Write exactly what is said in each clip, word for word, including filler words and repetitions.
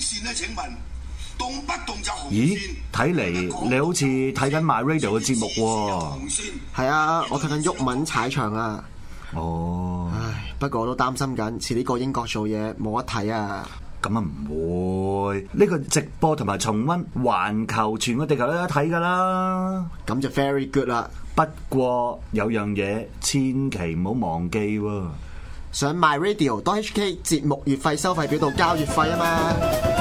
線咧？請問動不動就紅線？ 咦，睇嚟你好似睇緊 My Radio 嘅節目喎。 係啊，我睇緊毓民踩場啊。 哦， 唉，不過我都擔心緊，遲啲過英國做嘢冇得睇啊。 咁啊唔會，呢個直播同埋重溫，環球全個地球都有得睇噶啦。 咁就 very good 啦。 不過有樣嘢千祈唔好忘記喎， 上 My Radio dot H K 節目月費收費表度交月費啊嘛。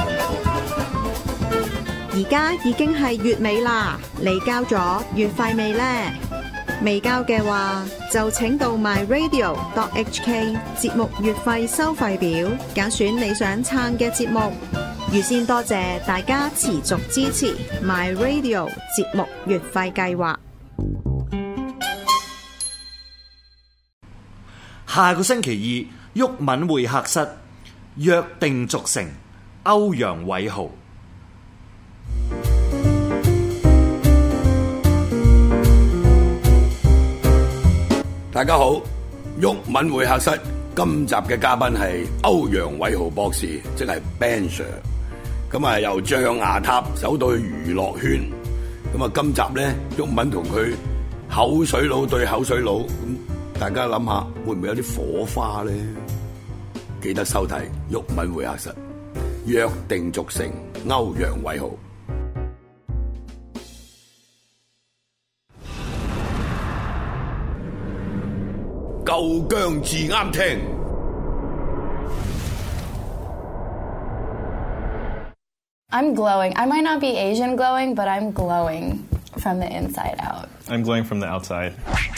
而家已經係月尾啦，你交咗月費未呢？未交嘅話，就請到 My Radio dot H K 節目月費收費表，揀選你想撐嘅節目。預先多謝大家持續支持 My Radio 節目月費計劃。 下個星期二，毓民會客室約定俗成，歐陽偉豪。 大家好，毓民會客室今集嘅嘉賓係歐陽偉豪博士，即係 Ben Sir。咁啊，由象牙塔走到去娛樂圈。咁啊，今集咧，毓民同佢口水佬對口水佬，咁大家諗下，會唔會有啲火花咧？記得收睇毓民會客室，約定俗成，歐陽偉豪。夠姜至啱聽。 I'm glowing. I might not be Asian glowing, but I'm glowing from the inside out. I'm glowing from the outside.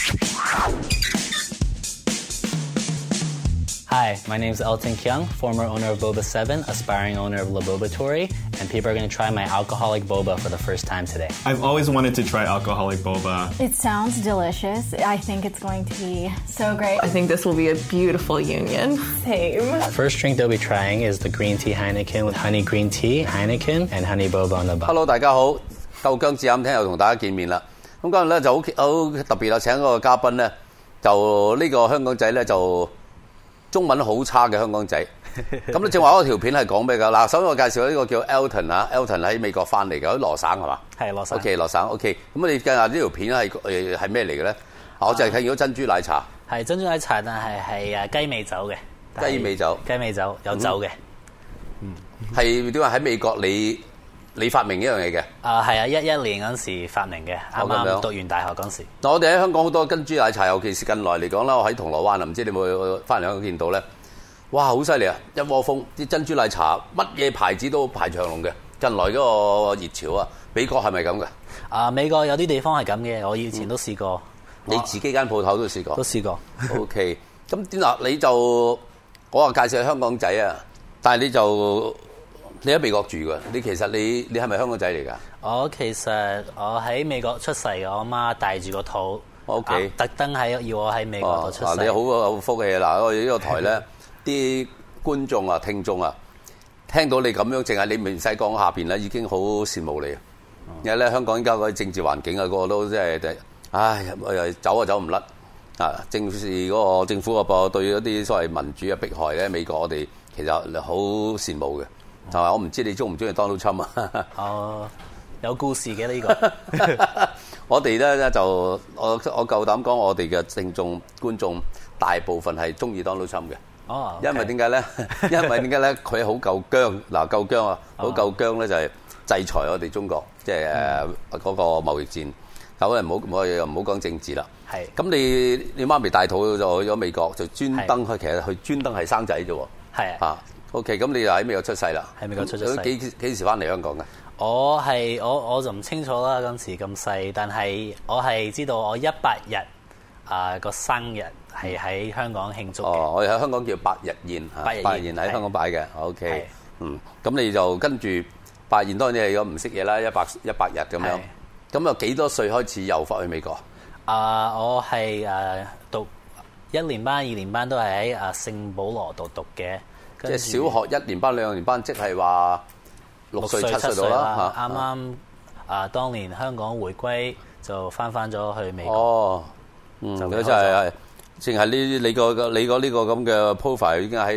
Hi, my name is Elton Kyung, former owner of Boba seven, aspiring owner of La Bobatori, and people are going to try my alcoholic boba for the first time today. I've always wanted to try alcoholic boba. It sounds delicious. I think it's going to be so great. I think this will be a beautiful union. Same. First drink they'll be trying is the green tea Heineken with honey green tea, Heineken, and honey boba on the bottom. Hello， 大家好，夠姜至啱聽又同大家見面啦。咁今日咧就好好特別啦，請嗰個嘉賓咧，就呢個香港仔咧就。中文好差嘅香港仔，咁咧正話嗰條片係講咩㗎？嗱，首先我介紹呢個叫 Elton 啊 ，Elton 喺美國翻嚟嘅，喺羅省係嘛？ 係羅省。 OK， 羅省 OK。咁你計下呢條片係誒係咩嚟嘅咧？我就係睇到珍珠奶茶。 係珍珠奶茶，但係係誒雞尾酒嘅。 雞尾酒。雞尾酒有酒嘅。 嗯。係點解喺美國你你發明呢樣嘢嘅？ 啊係啊，一一年嗰陣時發明嘅，啱啱讀完大學嗰陣時。 嗱，我哋喺香港好多珍珠奶茶，尤其是近來嚟講啦，我喺銅鑼灣啊，唔知你有冇翻嚟香港見到咧？哇，好犀利啊！一窩蜂啲珍珠奶茶，乜嘢牌子都排長龍嘅。近來嗰個熱潮啊，美國係咪咁嘅？ 啊，美國有啲地方係咁嘅，我以前都試過。 嗯、你自己間鋪頭都試過？ 都試過。 O K， 咁點嗱？你就我話介紹香港仔啊，但係你就。你喺美國住㗎，你其實你你係咪香港仔嚟㗎？ 我其實我喺美國出世嘅，我媽帶住個肚， 我屋企特登喺要我喺美國度出世。 哦、你好好福氣嗱，我哋呢個台咧，啲觀眾啊、聽眾啊，聽到你咁樣，淨係你唔使講下邊咧，已經好羨慕你。嗯、因為咧，香港而家嗰啲政治環境啊，個個都即係，唉，走啊走唔甩啊！政治嗰個政府個噃對嗰啲所謂民主嘅迫害咧，美國我哋其實好羨慕嘅。係嘛？我唔知你中唔中意 Donald Trump 啊？ 哦，有故事嘅呢、這個。 我哋咧就我我夠膽講，我哋嘅聽眾觀眾大部分係中意 Donald Trump 嘅。 哦， okay. 因為點解咧？因為點解咧？佢好夠姜嗱，夠姜啊！好夠姜咧就係制裁我哋中國，即係誒嗰個貿易戰。咁唔好我又唔好講政治啦。 係。咁你你媽咪大肚就去咗美國，就專登去，其實佢專登係生仔啫喎。 係啊。O.K. 咁你就喺美國出世啦？ 喺美國出咗世。 幾幾時翻嚟香港嘅？ 我係我我就唔清楚啦，嗰陣時咁細，但係我係知道我一百日啊個、呃、生日係喺香港慶祝嘅。 哦，我哋喺香港叫百日宴， 百日宴百日宴喺香港擺嘅。O.K. 嗯，咁你就跟住百日宴，當然你係如果唔識嘢啦，一百一百日咁樣。咁又幾多歲開始又翻去美國？ 啊、呃，我係誒、呃、讀一年班、二年班都係喺誒聖保羅度讀嘅。 即係小學一年班、兩年班，即係話六歲、七歲到啦。 啱啱啊，當年香港回歸就翻翻咗去美國。 哦，嗯，就真係係，淨係呢你個你個呢個咁嘅 profile 已經喺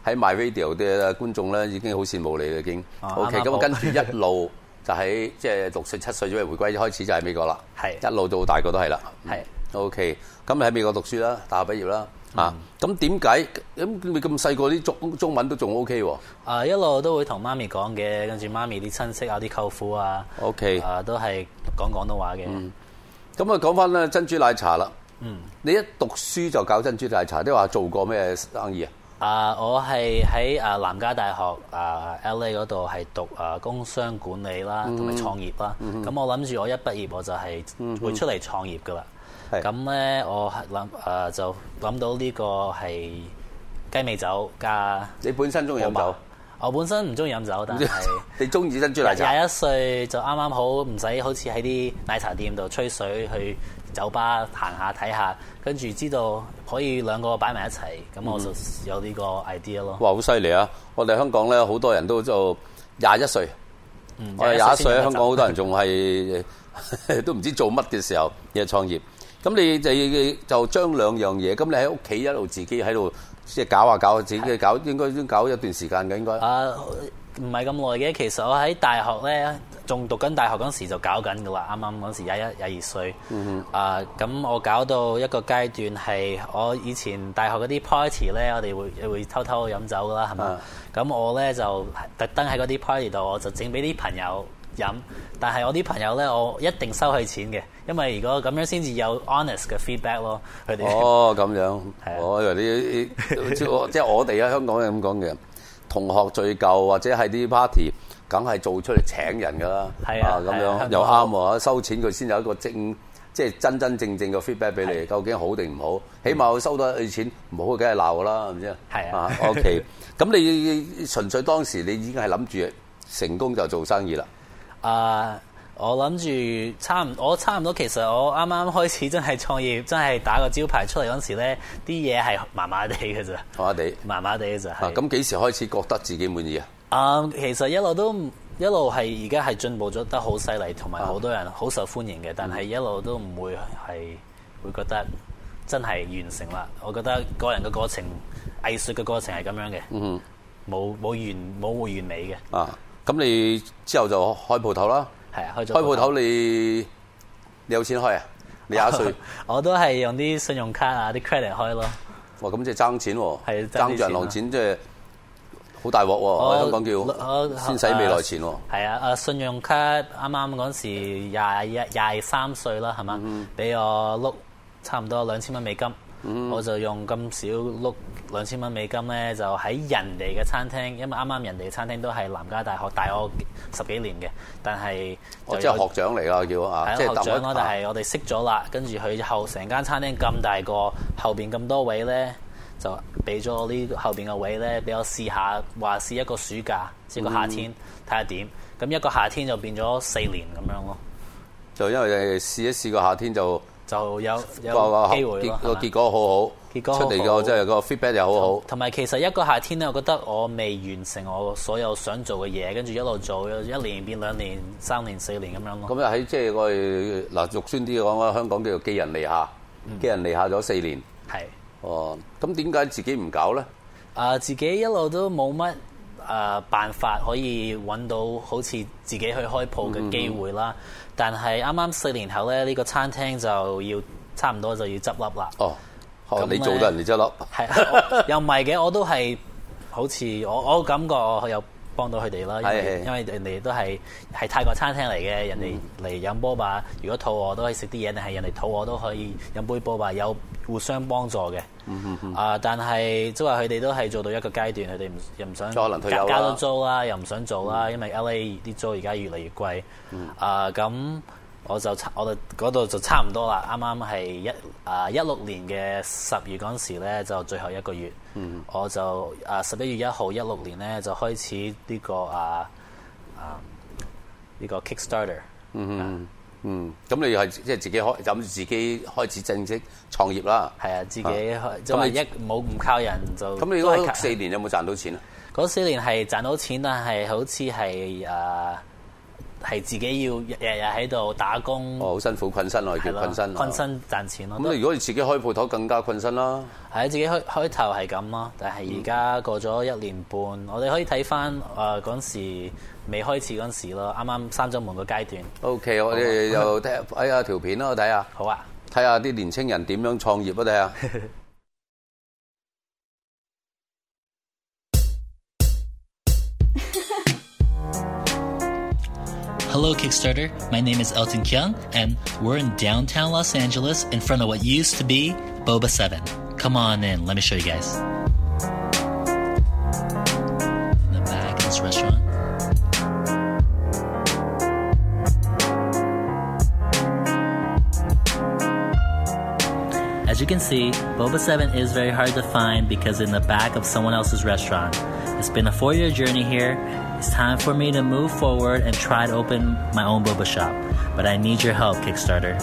喺 My Radio 嘅觀眾咧已經好羨慕你啦，已經。 哦、 OK，咁啱啱跟住一路就喺即係六歲七歲左右回歸開始就喺美國啦。 係一路到大個都係啦。 係 OK，咁你喺美國讀書啦，大學畢業啦。啊，咁點解咁你咁細個啲中中文都仲 O K 喎？ 啊，一路都會同媽咪講嘅，跟住媽咪啲親戚啊、啲舅父啊 ，OK， 啊都係講廣東話嘅。 咁啊，講翻咧珍珠奶茶啦。 嗯， 你一讀書就搞珍珠奶茶，即係話做過咩生意啊？ 啊，我係喺啊南加大學啊 L A 嗰度係讀啊工商管理啦，同埋創業啦。咁、嗯、我諗住我一畢業我就係會出嚟創業噶啦。咁咧，我諗誒就諗到呢個係雞尾酒加。 你本身中意飲酒？ 我本身唔中意飲酒，但係你中意珍珠奶茶。 廿一歲就啱啱好，唔使好似喺啲奶茶店度吹水，去酒吧行下睇下，跟住知道可以兩個擺埋一齊，咁我就有呢個 idea 咯。 哇！好犀利啊！我哋香港咧好多人都就廿一歲，嗯、我哋廿一歲喺香港好多人仲係都唔知做乜嘅時候嘅創業。咁你就就將兩樣嘢，咁你喺屋企一路自己喺度即係搞下搞下，自己搞應該都搞一段時間嘅應該。 啊，唔係咁耐嘅，其實我喺大學咧，仲讀緊大學嗰時就搞緊噶啦，啱啱嗰時廿一廿二歲。嗯、啊，咁我搞到一個階段係我以前大學嗰啲 party 咧，我哋會會偷偷飲酒噶啦，係嘛？咁、啊、我咧就特登喺嗰啲 party 度，我就整俾啲朋友飲，但係我啲朋友咧，我一定收佢錢嘅，因為如果咁樣先至有 honest 嘅 feedback 咯，佢哋。哦，咁樣。係啊。我以為你即係我哋喺香港係咁講嘅，同學聚舊或者係啲 party，梗係做出嚟請人㗎啦。係啊。咁樣又啱喎，收錢佢先有一個正，即係真真正正嘅 feedback 俾你，究竟好定唔好？起碼佢收到你錢，唔好梗係鬧㗎啦，係咪先？係啊。OK，咁你純粹當時你已經係諗住成功就做生意啦。啊、uh, ！我諗住差唔，我差唔多。其實我啱啱開始真係創業，真係打個招牌出嚟嗰時咧，啲嘢係麻麻地嘅咋，麻麻地，麻麻地嘅咋。 咁幾時開始覺得自己滿意啊？ 啊、uh, ，其實一路都一路係而家係進步咗得好犀利，同埋好多人好受歡迎嘅。Uh. 但係一路都唔會係會覺得真係完成啦。我覺得個人嘅過程、藝術嘅過程係咁樣嘅，嗯，冇冇完冇會完美嘅。啊、uh.！ 咁你之後就開鋪頭啦， 係啊，開咗開鋪頭你你有錢開啊？你廿歲， 我都係用啲信用卡啊、啲 credit 開咯。 哇！咁即係爭錢喎，係爭住銀行錢，即係好大鑊喎！喺香港叫先使未來錢喎。係啊，誒信用卡啱啱嗰時廿一廿三歲啦，係嘛？俾、嗯、我碌差唔多兩千蚊美金。嗯、我就用咁少碌兩千蚊美金咧，就喺人哋嘅餐廳，因為啱啱人哋嘅餐廳都係南加大學大我十幾年嘅，但係我即係學長嚟啦，叫啊，即係學長咯。但係我哋識咗啦，跟住佢後成間餐廳咁大個，後邊咁多位咧，就俾咗我呢後邊嘅位咧，俾我試下，話試一個暑假，試個夏天睇下點。咁、嗯、一個夏天就變咗四年咁樣咯。 就因為試一試個夏天就。 就有有機會咯， 個結果好好，結果出嚟個即係個 feedback 又好好。同埋其實一個夏天咧，我覺得我未完成我所有想做嘅嘢，跟住一路做，一年變兩年、三年、四年咁樣咯。 咁又喺即係我哋嗱肉酸啲講，香港叫做寄人籬下，嗯、寄人籬下咗四年。係。哦，咁點解自己唔搞咧？ 啊、呃，自己一路都冇乜誒辦法可以揾到好似自己去開鋪嘅機會啦。嗯嗯，但係啱啱四年後咧，呢、呢個餐廳就要差唔多就要執笠啦。哦，哦你做得人哋執笠？ 係又唔係嘅，我都係好似我我感覺我有幫到佢哋啦。因為因為人哋都係係泰國餐廳嚟嘅，人哋嚟飲波吧。如果肚餓都可以食啲嘢，定係人哋肚餓都可以飲杯波吧，有互相幫助嘅。嗯嗯嗯。啊，但係即係話佢哋都係做到一個階段，佢哋唔又唔想可能退休啦， 加多租啦，又唔想做啦，嗯、因為 L A 啲租而家越嚟越貴。嗯、啊，咁我就我哋嗰度就差唔多啦。啱啱係一啊一六年嘅十月嗰陣時咧，就最後一個月。嗯、我就啊十一月一號一六年咧就開始呢、呢個啊啊呢、呢個 Kickstarter。嗯。啊嗯，咁你係即係自己開，諗住自己開始正式創業啦。 係啊，自己開，即係一冇唔靠人就。 咁你嗰四年有冇賺到錢啊？ 嗰四年係賺到錢，但係好似係誒係自己要日日喺度打工。 哦，好辛苦，困身我哋叫困身。 困身賺錢咯。 咁如果你自己開鋪頭，更加困身啦。 係自己開開頭係咁咯，但係而家過咗一年半，嗯、我哋可以睇翻誒嗰陣時未開始嗰陣時咯，啱啱三週門個階段。 O、okay, K， 我哋又睇睇下條片啦，我睇下。 好啊。 睇下啲年青人點樣創業啊！睇下。 Hello, Kickstarter. My name is Elton Kyung, and we're in downtown Los Angeles in front of what used to be Boba seven. Come on in. Let me show you guys. In the back of this restaurant. As you can see, Boba seven is very hard to find because in the back of someone else's restaurant. It's been a four-year journey here. It's time for me to move forward and try to open my own boba shop. But I need your help, Kickstarter.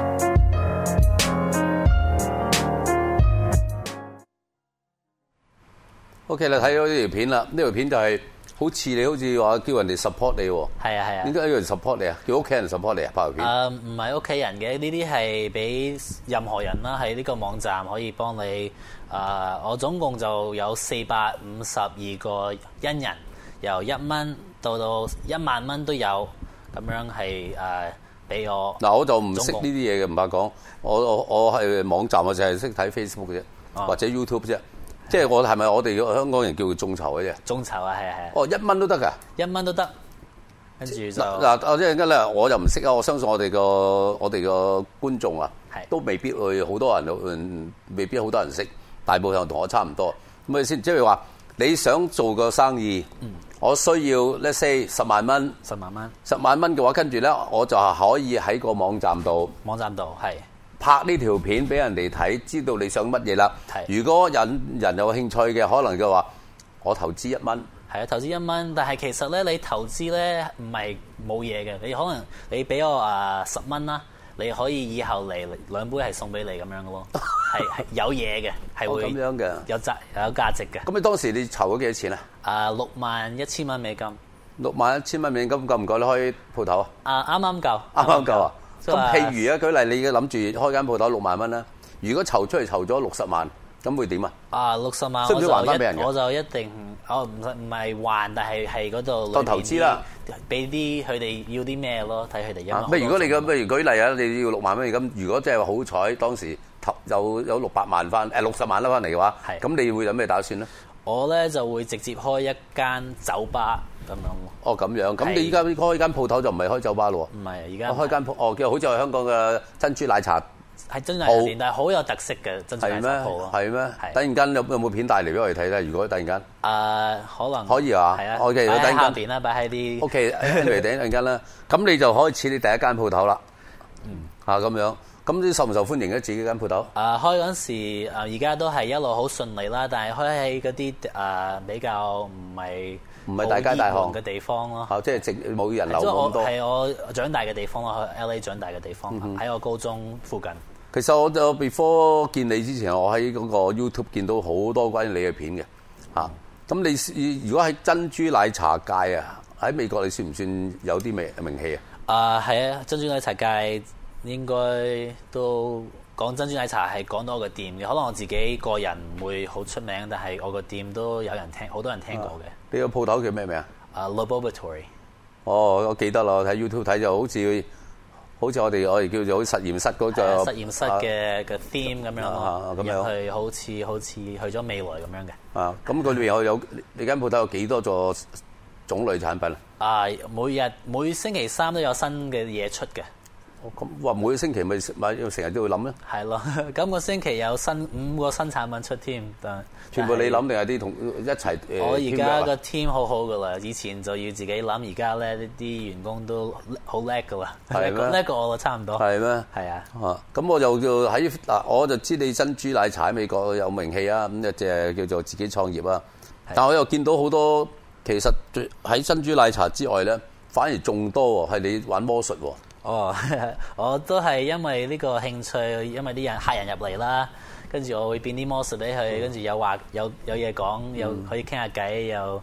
OK 啦，睇咗呢條片啦，呢條片就係好似你好似話叫人哋 support 你喎。 係啊係啊。點解要人 support 你啊？叫屋企人 support 你啊？拍條片。 誒唔係屋企人嘅，呢啲係俾任何人啦，喺呢個網站可以幫你。誒、呃，我總共就有四百五十二個恩人。由一蚊到到一萬蚊都有，咁樣係誒俾我。嗱， 我就唔識呢啲嘢嘅，唔怕講。我我我係網站，我就係識睇 Facebook 嘅啫，哦、或者 YouTube 啫。即係我係咪我哋香港人叫做眾籌嘅啫？ 眾籌啊，係啊係啊。 哦，一蚊都得㗎， 一蚊都得。跟住就嗱，我即係咧，我就唔識啊。我相信我哋個我哋個觀眾啊，都未必會好多人，未必好多人識。大部分同我差唔多。咁啊先，即係話你想做個生意。嗯我需要 let's say 十萬蚊， 十萬蚊， 十萬蚊嘅話，跟住咧我就係可以喺個網站度， 網站度係拍呢條片俾人哋睇，知道你想乜嘢啦。如果人人有興趣嘅，可能就話我投資一蚊。 係啊，投資一蚊，但係其實咧，你投資咧唔係冇嘢嘅，你可能你俾我啊十蚊啦。你可以以後嚟兩杯係送俾你咁樣嘅咯，係係有嘢嘅，係會咁樣嘅， 有價有價值嘅。 咁你當時你籌咗幾多錢啊？ 啊，六萬一千蚊美金。 六萬一千蚊美金夠唔夠你開鋪頭啊？ 啊，啱啱夠。 啱啱夠啊！咁譬如啊，舉例你諗住開間鋪頭六萬蚊啦，如果籌出嚟籌咗六十萬，咁會點啊？ 啊，六十萬， 需唔需要還翻俾人嘅？ 我就一定，我唔唔係還，但係係嗰度當投資啦， 俾啲佢哋要啲咩咯，睇佢哋。啊， 如果你咁，譬如舉例啊，你要六萬蚊咁，如果真係好彩，當時投有有六百萬翻，誒六十萬啦翻嚟嘅話，咁你會有咩打算咧？ 我咧就會直接開一間酒吧咁樣。 哦，咁樣，咁你依家開間鋪頭就唔係開酒吧咯喎？ 唔係，而家我開間鋪，哦，叫好似係香港嘅珍珠奶茶。 係珍珠奶茶店，但係好有特色嘅珍珠奶茶鋪咯。 係咩？突然間有有冇片帶嚟俾我哋睇咧？如果突然間， 誒可能可以啊。 係啊。 O K， 擺喺下邊啦，擺喺啲。 O K，anyway，突然間啦，咁你就開始你第一間鋪頭啦。嗯。嚇咁樣，咁啲受唔受歡迎咧？自己間鋪頭？ 誒開嗰陣時，誒而家都係一路好順利啦，但係開喺嗰啲誒比較唔係。 唔係大街大巷嘅地方咯， 即係直冇人流咁多。 係我長大嘅地方咯，去 L A 長大嘅地方，喺、嗯、我高中附近。 其實我就 before 見你之前，我喺嗰個 YouTube 見到好多關於你嘅片嘅嚇。咁、嗯、你如果喺珍珠奶茶界啊，喺美國你算唔算有啲名名氣啊？ 啊係啊，珍珠奶茶界應該都講珍珠奶茶係講到我個店嘅，可能我自己個人唔會好出名，但係我個店都有人聽，好多人聽過嘅。 你個鋪頭叫咩名啊？ 啊 Laboratory。 哦，我記得啦，我睇 YouTube 睇就好似好似我哋我哋叫做實驗室嗰個實驗室嘅嘅 theme 咁樣咯，咁樣去好似好似去咗未來咁樣嘅。 啊，咁佢裏邊有有你間鋪頭有幾多個種類產品啊？ 啊，每日每星期三都有新嘅嘢出嘅。 咁話每個星期咪咪要成日都要諗咧？ 係咯，今個星期有新五個新產品出添，但全部你諗定係啲同一齊？ 我而家個 team 好好噶啦，以前就要自己諗，而家咧呢啲員工都好叻噶啦，叻過我差唔多。 係咩？ 係啊。啊， 咁我就叫喺嗱，我就知你珍珠奶茶喺美國有名氣啊，咁就係叫做自己創業啊。但我又見到好多其實喺珍珠奶茶之外咧，反而仲多喎，係你玩魔術喎。 哦，我都係因為呢個興趣，因為啲人客人入嚟啦，跟住我會變啲魔術俾佢，跟住有話有有嘢講，又可以傾下偈，又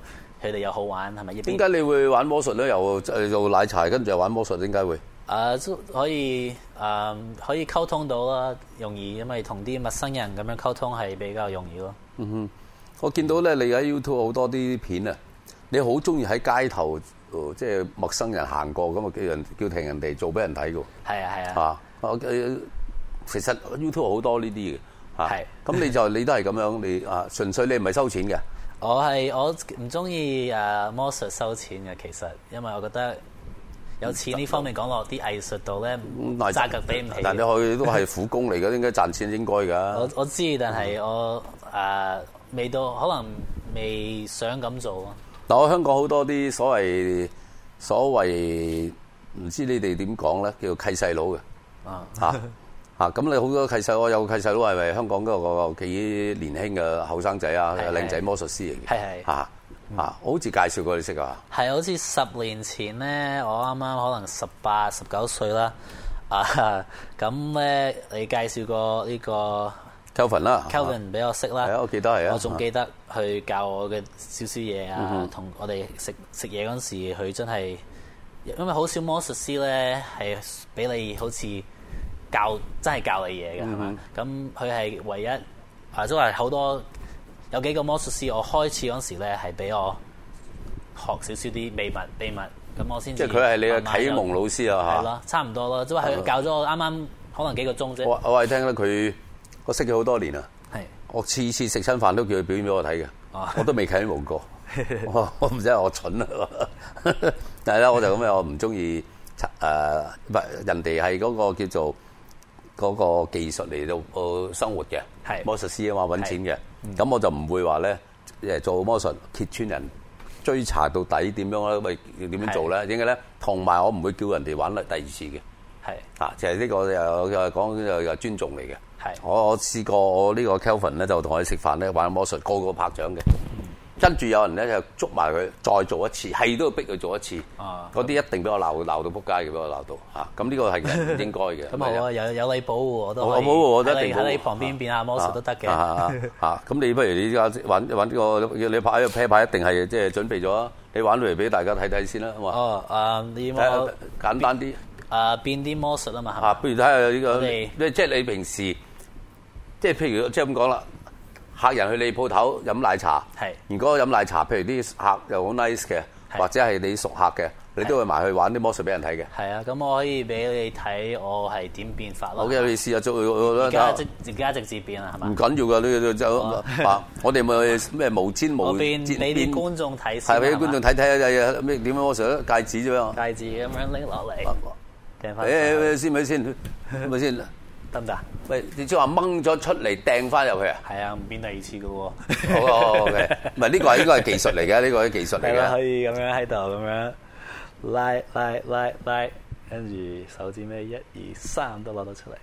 佢哋又好玩，係咪？ 點解你會玩魔術咧？又做奶茶，跟住又玩魔術，點解會？ 誒、uh, 可以誒、uh, 可以溝通到啦，容易，因為同啲陌生人咁樣溝通係比較容易咯。 嗯哼，我見到咧，你喺 YouTube 好多啲片啊，你好中意喺街頭，呃、即係陌生人行過咁啊，叫人叫停人哋做俾人睇嘅。 係啊係啊。 啊，我其實 YouTube 好多呢啲嘅。係。咁你就你都係咁樣，你啊純粹你唔係收錢嘅。 我係我唔中意誒魔術收錢嘅，其實因為我覺得。有錢呢方面講落啲藝術度咧，價格比唔起。但你去都係苦工嚟嘅，應該賺錢應該㗎。 我我知，但係我誒、呃、未到，可能未想咁做咯。 嗱，我香港好多啲所謂所謂唔知你哋點講咧，叫做契細佬嘅。啊嚇嚇！咁你好多契細，我有個契細佬係咪香港嗰個幾年輕嘅後生仔啊，靚仔魔術師嚟嘅。係係嚇。啊！我好似介紹過你識啊， 係好似十年前咧，我啱啱可能十八、十九歲啦。啊，咁咧你介紹過呢個 Kelvin 啦 ，Kelvin 俾我識啦。 係啊，我記得係啊。 我仲記得去教我嘅少少嘢啊，同、嗯、我哋食食嘢嗰陣時，佢真係因為好少魔術師咧係俾你好似教真係教你嘢嘅係嘛？咁佢係唯一啊，即係好多。有幾個魔術師，我開始嗰時咧係俾我學少少啲秘密秘密，咁我先。即係佢係你嘅啟蒙老師啊嚇。係咯，差唔多咯，即係佢教咗我啱啱可能幾個鐘啫。我我係聽咧佢，我識咗好多年啊。係。我次次食親飯都叫佢表演俾我睇嘅。哦。我都未啟蒙過。我我唔知係我蠢啊。但係咧，我就咁樣，我唔中意誒，唔係人哋係嗰個叫做嗰個技術嚟到誒生活嘅。係。魔術師啊嘛，揾錢嘅。咁、嗯、我就唔會話咧，誒做魔術揭穿人，追查到底點樣咧？喂，點樣做咧？點解咧？同埋我唔會叫人哋玩第二次嘅。係啊，就係、是、呢個又又講又又尊重嚟嘅。係我我試過我呢個 Kelvin 咧就同我哋食飯咧玩魔術，個個拍掌嘅。跟住有人咧就捉埋佢，再做一次，係都要逼佢做一次。啊！嗰啲一定俾我鬧鬧到撲街嘅，俾我鬧到嚇。咁呢個係唔應該嘅。咁啊，有有你保護我都可以。我保護我都一定保護。喺你旁邊變下魔術都得嘅。嚇！咁你不如你而家玩玩呢個，你拍呢個啤牌一定係即係準備咗，你玩嚟俾大家睇睇先啦，好嘛？哦，誒，你有冇簡單啲？誒，變啲魔術啊嘛。嚇！不如睇下呢個，即係你平時，即係譬如即係咁講啦。客人去你鋪頭飲奶茶，如果飲奶茶，譬如啲客又好 nice 嘅，或者係你熟客嘅，你都會埋去玩啲魔術俾人睇嘅。係啊，咁我可以俾你睇我係點變法咯。好嘅，你試下做。而家直而家直接變啦，係嘛？唔緊要㗎，呢個就我哋咪咩無氈無氈變俾啲觀眾睇先。係俾啲觀眾睇睇啊！咩點樣魔術？戒指啫嘛。戒指咁樣拎落嚟，掟翻。誒先咪先，咪先。得唔得？喂，你即係話掹咗出嚟掟翻入去啊？係啊，唔變第二次嘅喎。好好 OK， 唔係呢個係應該係技術嚟嘅，呢個係技術嚟嘅。可以咁樣喺度咁樣拉拉拉拉，跟住手指尾一二三都攞到出嚟。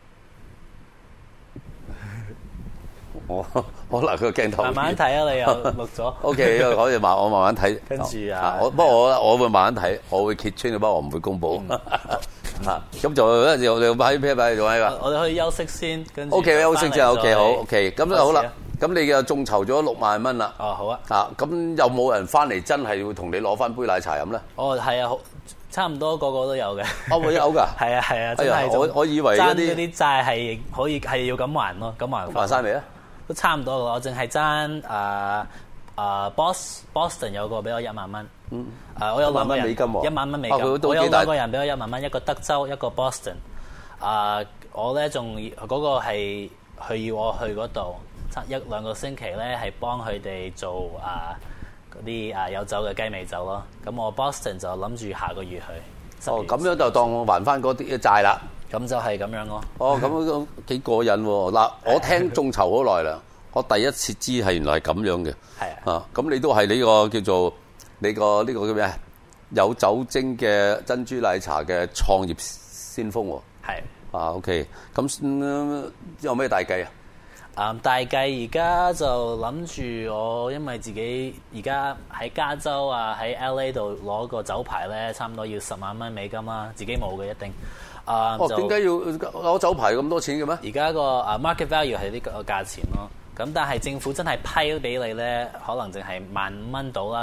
我可能個鏡頭慢慢睇啊！你又錄咗。O K， 可以慢，我慢慢睇。跟住啊，我不過我我會慢慢睇，我會揭穿嘅，不過我唔會公佈。嚇，咁就咧就就擺喺擺喺度喺度。我哋可以休息先，跟住 O K 休息之後 O K 好 O K， 咁就好啦。咁你嘅眾籌咗六萬蚊啦。哦，好啊。嚇，咁有冇人翻嚟真係會同你攞翻杯奶茶飲咧？哦，係啊，好，差唔多個個都有嘅。哦，會有㗎。係啊係啊，真係。我我以為爭嗰啲債係可以係要咁還咯，咁還。還曬未啊？都差唔多㗎，我淨係爭誒誒 Bos Boston 有個俾我一萬蚊。嗯。誒，我有兩個人一萬蚊美金。我有兩個人俾我一萬蚊，一個德州，一個 Boston。誒，我咧仲嗰個係佢要我去嗰度，一兩個星期咧係幫佢哋做誒嗰啲誒有酒嘅雞尾酒咯。咁我 Boston 就諗住下個月去。哦，咁樣就當我還翻嗰啲債啦。咁就係咁樣咯。哦，咁樣幾過癮喎！嗱，我聽眾籌好耐啦，我第一次知係原來係咁樣嘅。係啊。啊，咁你都係呢個叫做你個呢個叫咩啊？有酒精嘅珍珠奶茶嘅創業先鋒喎。係。啊 ，OK， 咁有咩大計啊？啊，大計而家就諗住我，因為自己而家喺加州啊，喺 L A 度攞個酒牌咧，差唔多要十萬蚊美金啦，自己冇嘅一定。啊，哦，點解要攞酒牌咁多錢嘅咩？而家個啊 market value 係呢個價錢咯。咁但係政府真係批俾你咧，可能淨係萬五蚊到啦。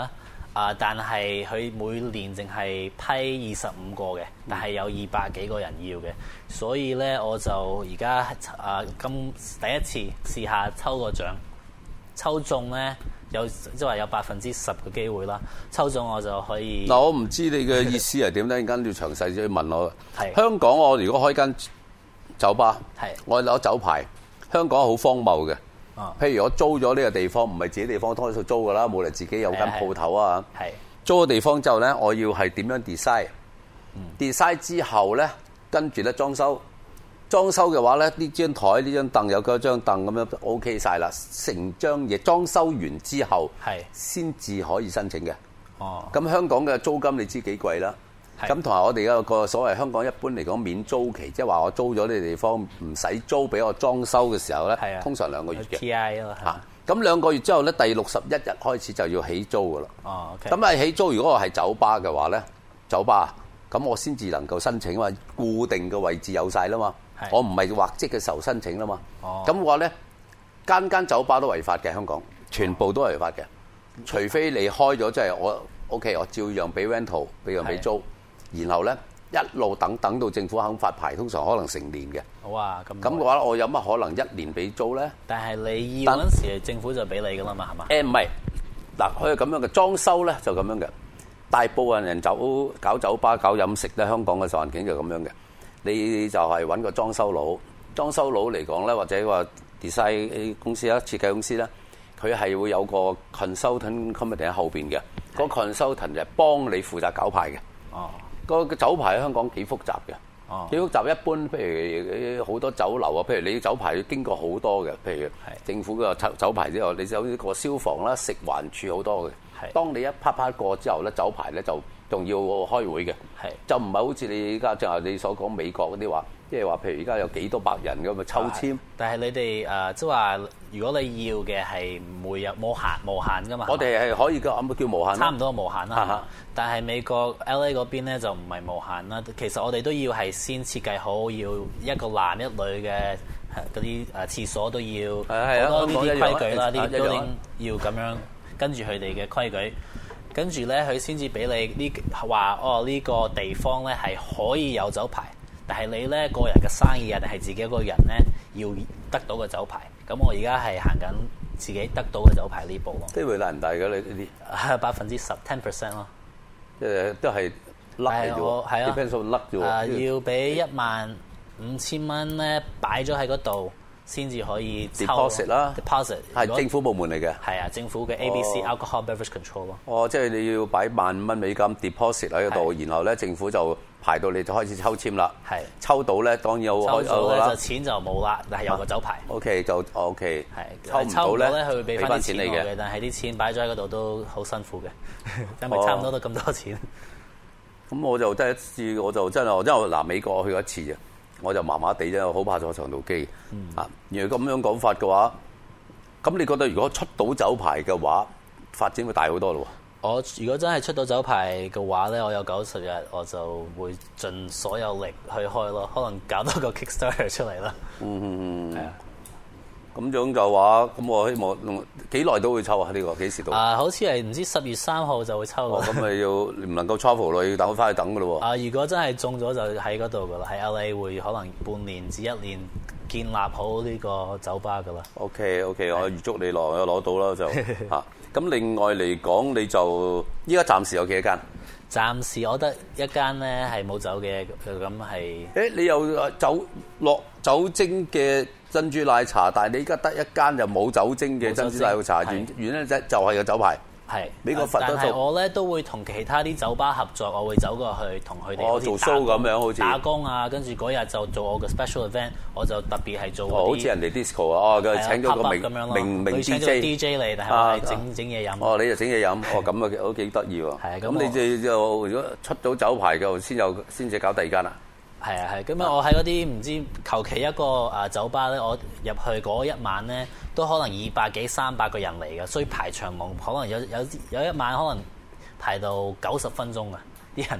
啊！但係佢每年淨係批二十五個嘅，但係有二百幾個人要嘅，所以咧我就而家啊今第一次試下抽個獎，抽中咧有即係話有百分之十嘅機會啦，抽中我就可以。 嗱，我唔知你嘅意思係點咧，陣間要詳細啲問我。 係香港，我如果開間酒吧， 係我攞酒牌，香港好荒謬嘅。 哦、 譬如我租咗呢個地方，唔係自己地方，多數租㗎啦，冇嚟自己有間鋪頭啊。 係租個地方之後咧，我要係點樣 design？design、嗯、之後咧，跟住咧裝修。裝修嘅話咧，呢張台、呢張凳有嗰張凳咁樣 OK 晒啦。成張嘢裝修完之後，係先至可以申請嘅。哦。咁香港嘅租金你知幾貴啦？咁同埋我哋有個所謂香港一般嚟講免租期，即係話我租咗呢個地方唔使租俾我裝修嘅時候咧，通常兩個月嘅。T I 咯嚇。咁兩個月之後咧，第六十一日開始就要起租噶啦。哦。咁、okay、啊起租，如果我係酒吧嘅話咧，酒吧咁我先至能夠申請啊嘛，固定嘅位置有晒啦嘛。我唔係畫則嘅時候申請啦嘛。哦。咁話咧，間間酒吧都違法嘅，香港全部都係違法嘅，除非你開咗即係我 OK， 我照樣俾 rental， 俾樣俾租。然後咧一路等等到政府肯發牌，通常可能成年嘅。好啊，咁咁嘅話，我有乜可能一年俾租咧？但係你要嗰陣時，政府就俾你噶啦嘛，係嘛？誒唔係，嗱佢係咁樣嘅裝修咧，就咁樣嘅。大部分人走搞酒吧、搞飲食咧，香港嘅環境就咁樣嘅。你就係揾個裝修佬，裝修佬嚟講咧，或者話 design 公司啦、設計公司咧，佢係會有個 consultant committee 喺後邊嘅。個 consultant 就係幫你負責搞牌嘅。哦。個酒牌喺香港幾複雜嘅，哦、幾複雜。一般譬如好多酒樓啊，譬如你酒牌要經過好多嘅，譬如政府嘅酒牌之後，你有呢個消防啦、食環署好多嘅。當你一啪啪過之後咧，酒牌咧就仲要開會嘅，就唔係好似你而家就係你所講美國嗰啲話，即係話譬如而家有幾多百人咁咪抽籤。但係你哋誒即係話，如果你要嘅係唔會有冇限無限噶嘛？我哋係可以嘅，咁叫無限。差唔多無限啦。但係美國 L A 嗰邊咧就唔係無限啦。其實我哋都要係先設計好，要一個男一女嘅嗰啲誒廁所都要好多呢啲規矩啦，啲 building 要咁樣跟住佢哋嘅規矩。跟住咧，佢先至俾你呢話哦，呢、呢個地方咧係可以有酒牌，但係你咧個人嘅生意啊，定係自己一個人咧要得到個酒牌。咁我而家係行緊自己得到嘅酒牌呢步咯。機會大唔大㗎？你呢啲百分之十 ten percent 咯，即係都係甩嘅啫。係啊，啲 percent 甩啫喎。要俾一萬五千蚊咧，擺咗喺嗰度。先至可以抽 deposit 啦 ，deposit 係政府部門嚟嘅，係啊，政府嘅 A B C、oh. Alcohol Beverage Control 咯。哦，即係你要擺萬五蚊美金 deposit 喺嗰度，然後咧政府就排到你就開始抽籤啦。係抽到咧，當然有抽到咧就錢就冇啦，但係有個酒牌。O、okay, K 就 O K 係抽唔到咧，佢會俾翻啲錢你嘅，但係啲錢擺咗喺嗰度都好辛苦嘅，因為差唔多都咁多錢。咁、oh. 我就第一次，我就真係，因為嗱美國我去過一次啫。我就麻麻地啫，好怕坐長途機。嗯、啊，如果咁樣講法嘅話，咁你覺得如果出到酒牌嘅話，發展會大好多咯喎？我如果真係出到酒牌嘅話咧，我有九十日，我就會盡所有力去開咯，可能搞多個 Kickstarter 出嚟啦。嗯嗯嗯，係啊。咁樣嘅話，咁我希望幾耐都會抽啊？呢、呢個幾時到？啊，好似係唔知十月三號就會抽。哦，咁咪要唔能夠 travel 咯，要等我翻去等噶咯喎。啊，如果真係中咗就喺嗰度噶啦，喺 L A 會可能半年至一年建立好呢個酒吧噶啦。OK OK，我預祝你攞，我攞到啦就嚇。咁另外嚟講，你就依家暫時有幾多間？暫時我得一間咧係冇酒嘅，咁係。誒，你有酒落酒精嘅珍珠奶茶，但係你而家得一間又冇酒精嘅珍珠奶茶，原原因啫就係個酒牌。係，美國佛都做。但係我咧都會同其他啲酒吧合作，我會走過去同佢哋。哦，做 show 咁樣好似。打工啊，跟住嗰日就做我嘅 special event，我就特別係做。哦，好似人哋 disco 啊，哦，佢請咗個名名名 D J。D J 嚟，但係我係整整嘢飲。哦，你就整嘢飲，哦咁啊，都幾得意喎。係咁你就如果出到酒牌嘅，先有先至搞第二間啦。係啊係，咁啊我喺嗰啲唔知求其一個誒酒吧咧，我入去嗰一晚咧，都可能二百幾三百個人嚟嘅，所以排長龍，可能有有有一晚可能排到九十分鐘啊！啲人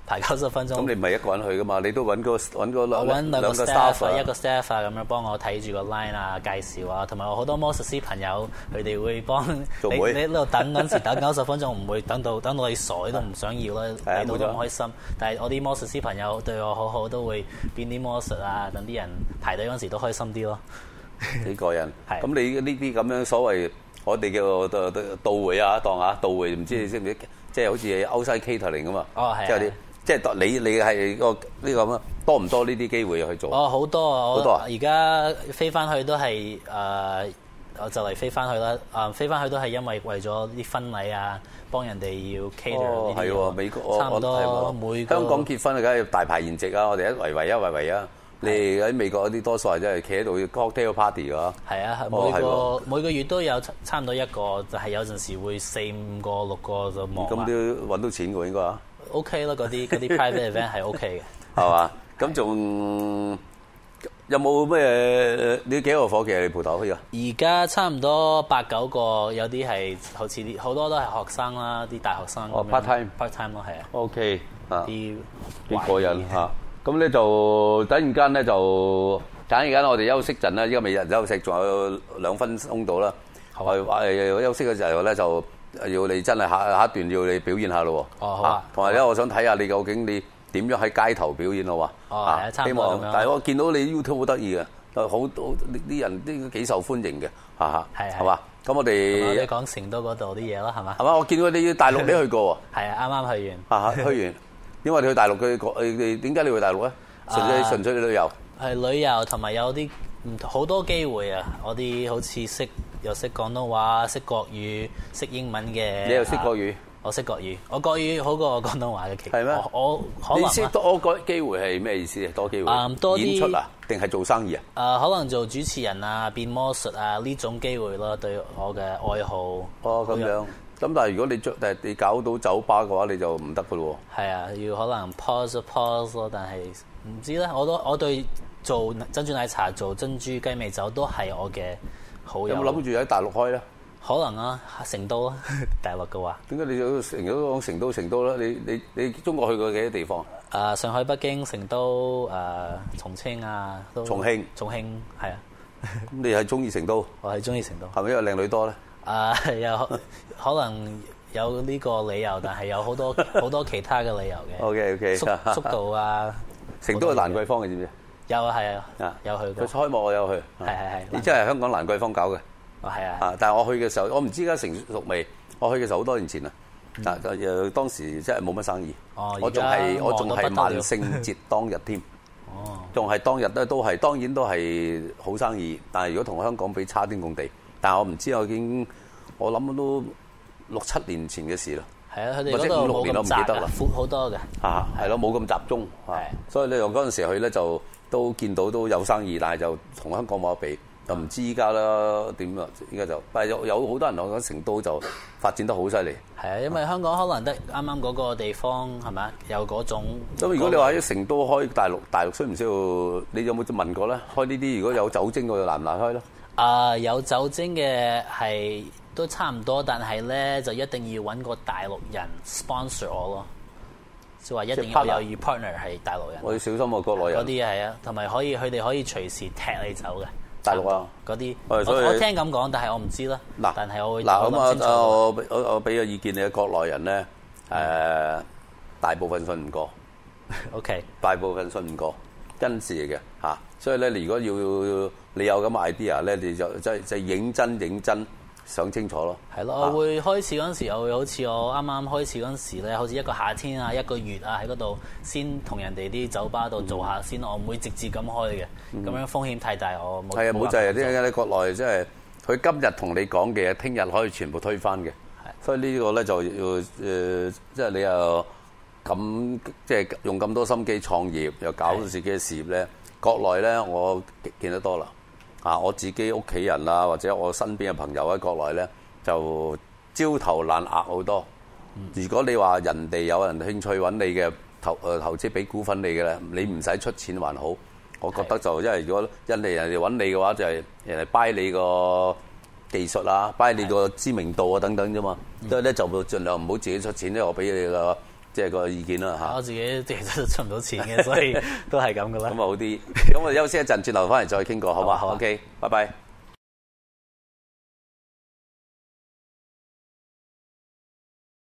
排九十分鐘。 咁你唔係一個人去噶嘛？你都揾個揾個兩我揾兩個 staff 啊，一個 staff 啊，咁樣幫我睇住個 line 啊，介紹啊，同埋我好多魔術師朋友，佢哋會幫你你喺度等嗰陣時等九十分鐘，唔會等到等到你傻都唔想要啦，睇到都唔開心。但係我啲魔術師朋友對我好好，都會變啲魔術啊，等啲人排隊嗰陣時都開心啲咯。 幾個人，咁你呢啲咁樣所謂我哋叫到到會啊檔啊到會，唔知你識唔識？即係好似歐西 catering 咁嘛。 哦，係。 即係啲，即係你你係個呢個咁啊，多唔多呢啲機會去做？ 哦，好多啊！ 好多啊！ 而家飛翻去都係誒、呃，我就嚟飛翻去啦。啊，飛翻去都係因為為咗啲婚禮啊，幫人哋要 cater 呢啲。係喎，美國差唔多每個香港結婚啊，梗係大排筵席啊！我哋一圍圍一圍圍啊！你喺美國嗰啲多數係真係企喺度 cocktail party 㗎。係啊，每個、哦、每個月都有差唔多一個，就係、是、有陣時會四五個六個就忙。咁都揾到錢㗎應該啊。 O K 啦，嗰啲嗰啲 private event 係 O K 嘅。 係嘛？咁仲有冇咩？你幾個夥計你鋪頭去㗎？ 而家差唔多八九個，有啲係好似啲好多都係學生啦，啲大學生。 哦 part time part time 咯，係啊。 O K 啊， 啲幾過癮嚇。咁咧就突然間咧就突然間我哋休息陣啦，依家未日休息，仲有兩分鐘到啦。係話誒休息嘅時候咧，就要你真係下下一段要你表演下咯喎。 哦，好啊。 同埋咧，我想睇下你究竟你點樣喺街頭表演咯喎。 哦，係啊，差唔多咁樣。 但係我見到你 YouTube 好得意嘅，好多啲人都幾受歡迎嘅，嚇嚇。係係嘛？咁我哋你講成都嗰度啲嘢咯，係嘛？ 係嘛？我見到你大陸你去過喎。 係啊，啱啱去完。 嚇嚇，去完。因為你去大陸嘅誒，你點解你去大陸咧？純粹純粹旅遊。 係旅遊同埋有啲唔好多機會啊！我啲好似識又識廣東話、識國語、識英文嘅。 你又識國語？ 我識國語，我國語好過廣東話嘅。其實係咩？ 我可能你識多個機會係咩意思啊？多機會。 嗯，多啲演出啊，定係做生意啊？ 誒，可能做主持人啊、變魔術啊呢種機會咯，對我嘅愛好。 哦，咁樣。咁但係如果你著誒你搞到酒吧嘅話，你就唔得㗎咯喎。 係啊，要可能 pause pause 咯，但係唔知咧。我都我對做珍珠奶茶、做珍珠雞尾酒都係我嘅好友。 有冇諗住喺大陸開咧？ 可能啊，成都啊，大陸嘅話。 點解你有成日都講成都成都咧？你你你中國去過幾多地方？ 誒，上海、北京、成都、誒重慶啊，都。 重慶。 重慶係啊。 咁你係中意成都？ 我係中意成都。 係咪因為靚女多咧？ 誒有可能有呢個理由，但係有好多好多其他嘅理由嘅。 O K O K， 速速度啊， 成都係蘭桂坊嘅知唔知？ 有啊，係啊，有去過。 佢開幕我有去。 係係係。 你真係香港蘭桂坊搞嘅。 哦，係啊。 啊，但係我去嘅時候，我唔知而家成熟未。我去嘅時候好多年前啦。嗱，誒當時真係冇乜生意。 哦， 我仲係我仲係萬聖節當日添。哦。仲係當日咧，都係當然都係好生意，但係如果同香港比差天共地。但係我唔知，我已經我諗都六七年前嘅事啦。 係啊，佢哋嗰度冇咁窄啦，闊好多嘅。 啊，係咯，冇咁集中。係，所以咧，我嗰陣時去咧就都見到都有生意，但係就同香港冇得比，就唔知依家啦點啊？依家就，但係有有好多人講成都就發展得好犀利。 係啊，因為香港可能得啱啱嗰個地方係咪有嗰種。 咁如果你話喺成都開大陸，大陸需唔需要？你有冇問過咧？開呢啲如果有酒精嘅，難唔難開咧？ 啊、uh, 有酒精嘅係都差唔多，但係咧就一定要揾個大陸人 sponsor 我咯，即係話一定要有 partner 係大陸人。 我要小心喎，國內人。 嗰啲係啊，同埋可以佢哋可以隨時踢你走嘅。 大陸啊， 嗰啲我我聽咁講，但係我唔知啦。嗱，但係我會嗱咁啊，我我我俾個意見你，國內人咧誒、呃、大部分信唔過。 OK， 大部分信唔過，真事嘅嚇。所以咧，如果要你有咁嘅 idea 咧，你就即係即係認真認真想清楚咯。 係咯，我會開始嗰陣時，我會好似我啱啱開始嗰陣時咧，好似一個夏天啊，一個月啊，喺嗰度先同人哋啲酒吧度做下先，嗯、我唔會直接咁開嘅。咁、嗯、樣風險太大，我冇。係啊，冇就係啲喺國內，即係佢今日同你講嘅，聽日可以全部推翻嘅。係，所以呢個咧就要誒，即係你又咁即係用咁多心機創業，又搞到自己嘅事業咧。國內咧，我見得多啦。啊，我自己屋企人啊，或者我身邊嘅朋友喺國內咧，就焦頭爛額好多。嗯、如果你話人哋有人興趣揾你嘅投誒投資俾股份你嘅咧，你唔使出錢還好。我覺得就因為如果人哋人哋揾你嘅話，就係、是、人哋 buy 你個技術啊，buy 你個知名度啊等等啫嘛。所以咧就盡量唔好自己出錢咧，我俾你個即係個意見啦嚇。 我自己其實都出唔到錢嘅，所以都係咁噶啦。 咁啊好啲。咁我休息一陣，轉頭翻嚟再傾過，好嘛？ 好啊好啊 OK，拜拜。